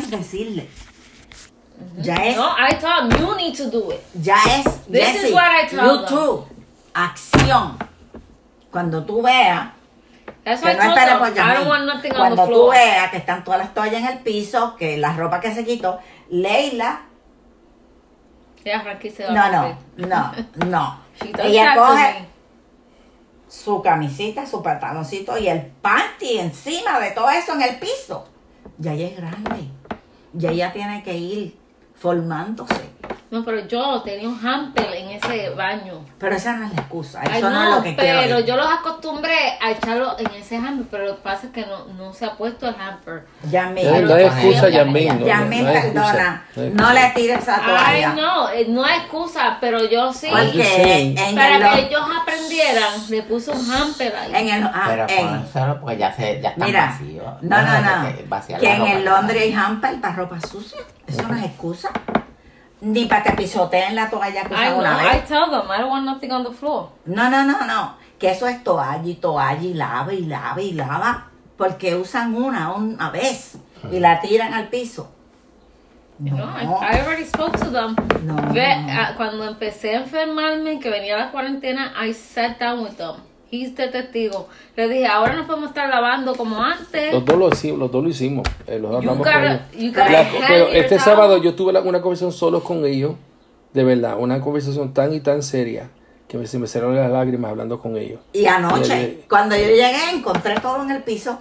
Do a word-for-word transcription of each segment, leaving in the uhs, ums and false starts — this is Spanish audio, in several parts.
es decirle. Ya es. No, I told them, you need to do it. Ya es. This Jessie, is what I tell you them. too. Acción. Cuando tú veas. That's Que why no I told espere them, por I Yasmín. don't want nothing on Cuando the tú floor. veas que están todas las toallas en el piso, que la ropa que se quitó, Leila. Yeah, Frankie se va No, a no, morir. no, no. She does Ella that to coge me. su camisita, su pantaloncito y el panty encima de todo eso en el piso. Ya ella es grande. Ya ella tiene que ir formándose. No, pero yo tenía un hamper en ese baño. Pero esa no es la excusa. Eso Ay, no, no, es lo que quiero. pero ir. yo los acostumbré a echarlo en ese hamper, pero lo que pasa es que no, no se ha puesto el hamper. Yasmín, No, no hay excusa, Yasmín. No, Yasmín, no hay excusa. perdona. No hay No excusa. le tires esa toalla. Ay, no, eh, no hay excusa, pero yo sí. I'm just Porque saying. en Para el, que ellos aprendieran, le puse un hamper ahí. en el, ah, Pero en- pónselo porque ya, se, ya está mira, vacío. no, no, dejes no. que vaciar Que la en ropa el que Londres hay está. hamper para ropa sucia. Eso no es excusa. Ni para que pisoteen la toalla que I usan know, una I vez. tell them, I don't want nothing on the floor. No, no, no, no. Que eso es toalla y toalla y lava y lava y lava. Porque usan una una vez y la tiran al piso. You No, know, I, I already spoke to them. No, Ve, no. ah, cuando empecé a enfermarme, que venía la cuarentena, I sat down with them. He's the testigo. Le dije, ahora no podemos estar lavando como antes. Los dos lo hicimos, los dos lo hicimos. Eh, los You hablamos con gotta, ellos. you gotta La- hand pero your este towel. sábado yo tuve la- una conversación solos con ellos, de verdad, una conversación tan y tan seria que me, se me cerraron las lágrimas hablando con ellos. Y anoche, Eh, cuando yo llegué, encontré todo en el piso.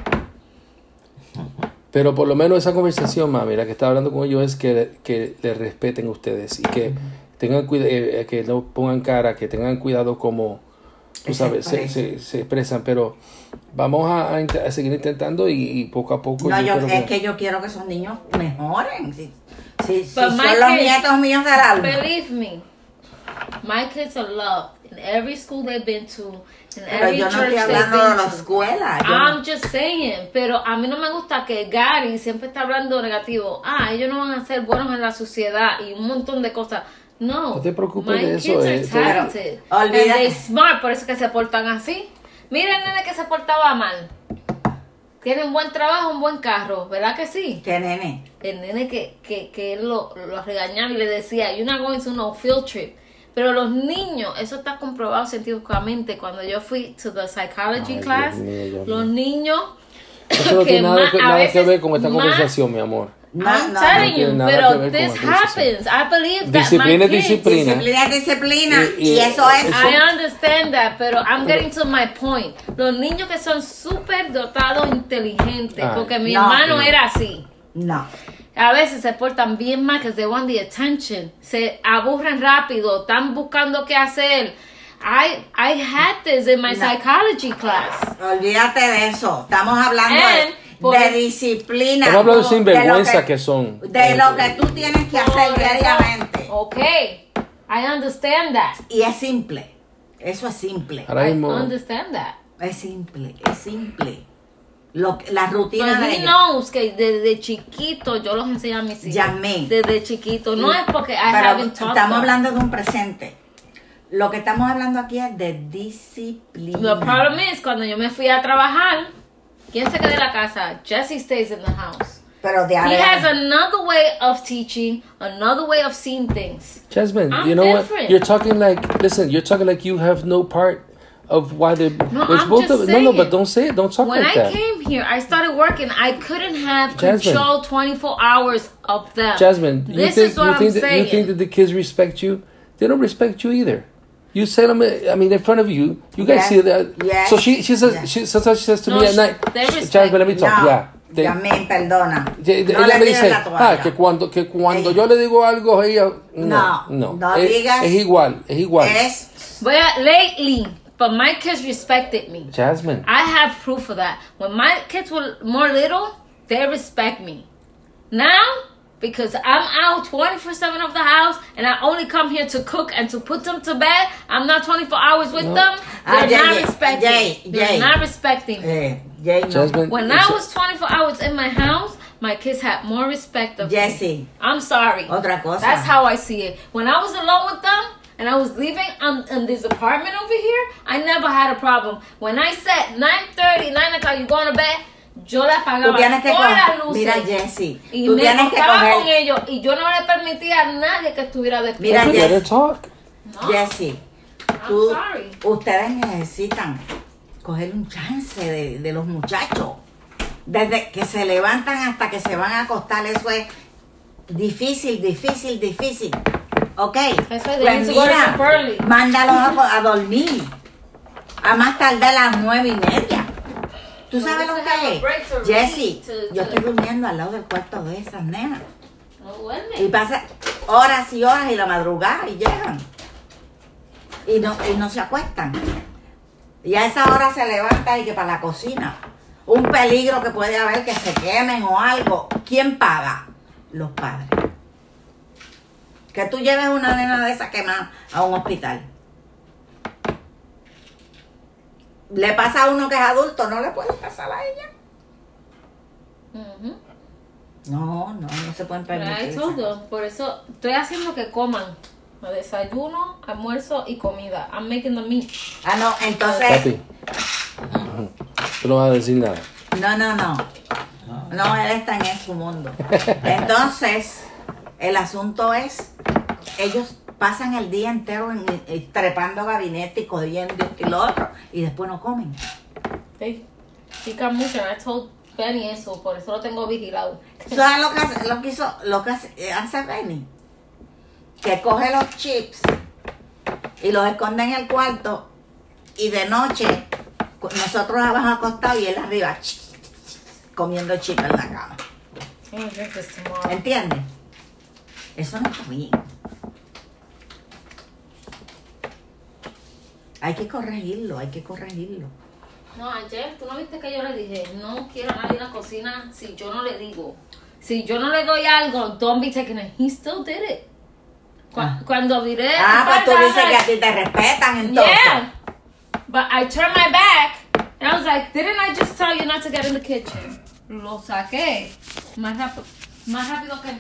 Pero por lo menos esa conversación, mami, la que estaba hablando con ellos es que, que les respeten ustedes y que tengan cuidado, eh, que no pongan cara, que tengan cuidado como, tú Se sabes, se, expresen. se, se expresan. Pero vamos a, a int- a seguir intentando y, y poco a poco. No, yo, creo es que yo quiero que esos niños mejoren. Si, si, si But son my los kids- nietos míos del alma. Believe me, my kids are loved in every school they've been to, in Pero every yo no church estoy they've hablando de been la to. escuela. Yo I'm no- just saying, pero a mí no me gusta que Gary siempre está hablando negativo. Ah, ellos no van a ser buenos en la sociedad y un montón de cosas. No, No te preocupes my de eso, kids are eh, talented. pero And olvídate. they smart, por eso que se portan así. Mira el nene que se portaba mal. Tiene un buen trabajo, un buen carro, ¿verdad que sí? ¿Qué nene? El nene que, que, que él lo, lo regañaba y le decía, you're not going to no field trip. Pero los niños, eso está comprobado científicamente. Cuando yo fui to the psychology Ay, class, Dios mío, Dios los mío. niños Eso no que tiene nada, más- que, a nada que veces ver con esta más- conversación, mi amor. No, I'm no, telling no tiene you, nada que pero ver con this la conversación. happens. I believe that Disciplina my es kids, disciplina. Disciplina es disciplina. Y- Y, y- eso es. eso- I understand that, pero I'm getting to my point. Los niños que son súper dotados, inteligentes, Ay, porque mi no, hermano no. era así. No. A veces se portan bien mal, que they want the attention. Se aburren rápido, están buscando qué hacer. I, I had this in my No. psychology class. Olvídate de eso. Estamos hablando And de, por- de disciplina. Estamos hablando de de lo sinvergüenza que son. De lo que tú tienes que hacer Por eso- diariamente. Okay, I understand that. Y es simple. Eso es simple. Ahora I mismo, understand that. Es simple. Es simple. Lo, que- la rutina But de he ellos. knows que desde chiquito yo los enseño a mis hijos. Yasmín. Desde chiquito. No es porque I Pero haven't taught estamos them. hablando de un presente. Lo que estamos hablando aquí es de disciplina. The problem is, cuando yo me fui a trabajar, ¿quién se queda en la casa? Jesse stays in the house. Pero de He ahora- has another way of teaching, another way of seeing things. Jasmine, I'm you know different. what? You're talking like, listen, you're talking like you have no part of why they. No, it's I'm both just of, no, no, but saying. don't say it. Don't talk When like I that. came here, I started working. I couldn't have Jasmine. control twenty-four hours of them. Jasmine, you this think is what you I'm think that saying. you think that the kids respect you? They don't respect you either. You say them, I mean, in front of you. You guys Yes. see that. Yes. So she she says Yes. she sometimes she says to No, me at she- night. they respect Jasmine, let me talk. No, Yeah. They- Yasmín, perdona. de- de- No ella le me tires dice, la toalla. ah, que cuando que cuando Ella. yo le digo algo a ella, no, No, no, no es, digas- es igual, es igual. Es But lately, but my kids respected me. Jasmine. I have proof of that. When my kids were more little, they respect me. Now, because I'm out twenty-four seven of the house and I only come here to cook and to put them to bed, I'm not twenty-four hours with No. them. Ah, They're Jay, not Jay, respecting Jay, They're Jay. not respecting me. eh, Jay, no. Jasmine. When it's- I was twenty-four hours in my house, my kids had more respect of me. Jessie, I'm sorry. otra cosa. That's how I see it. When I was alone with them and I was living on, in this apartment over here, I never had a problem. When I said nine thirty, nine o'clock, you going to bed? yo le apagaba Tú tienes que todas coger- las luces. Mira, Jessie, y tú me tienes que acostaba coger- con ellos y yo no le permitía a nadie que estuviera Mira, despierto. We Jess- better talk. No, Jessie, I'm tú, sorry. ustedes necesitan coger un chance de, de los muchachos. Desde que se levantan hasta que se van a acostar, eso es difícil, difícil, difícil. ¿Ok? Eso es de Pues irse a mira, super early. mándalos a, a dormir. A más tardar a las nueve y media. ¿Tú Well, sabes we lo could have que a break to es? Jessie, read, to- yo to- estoy durmiendo al lado del cuarto de esas nenas. No duerme. Y pasa horas y horas y la madrugada y llegan. Y no, y no se acuestan. Y a esa hora se levanta y que para la cocina. Un peligro que puede haber que se quemen o algo. ¿Quién paga? Los padres. Que tú lleves una nena de esa quemada a un hospital. Le pasa a uno que es adulto, no le puede pasar a ella. Ujú. No, no, no se pueden Pero permitir. hay esas todo. cosas. Por eso estoy haciendo que coman. Desayuno, almuerzo y comida. I'm making the meat. Ah, no, entonces. Papi. Tú no vas a decir nada. No, no, no. No, él está en su mundo. Entonces, el asunto es, ellos pasan el día entero en, en- trepando gabinete y cogiendo esto y lo otro, y después no comen. Sí. Pican mucho. I told Benny eso. Por eso lo tengo vigilado. ¿Sabes lo que hace, lo que hizo, lo que hace, hace Benny? Que coge los chips y los esconde en el cuarto, y de noche nosotros abajo acostados y él arriba comiendo chips en la cama. I'm gonna drink this tomorrow. ¿Entiendes? Eso no está bien. Hay que corregirlo, hay que corregirlo. No, ayer, ¿tú no viste que yo le dije? No quiero a nadie en la cocina si yo no le digo. Si yo no le doy algo, don't be taking it. He still did it. Cu- Ah. Cuando viré... Ah, pues tú I was dices que a like, ti te respetan entonces. Yeah. But I turned my back and I was like, didn't I just tell you not to get in the kitchen? Lo saqué. Más rápido, más rápido que...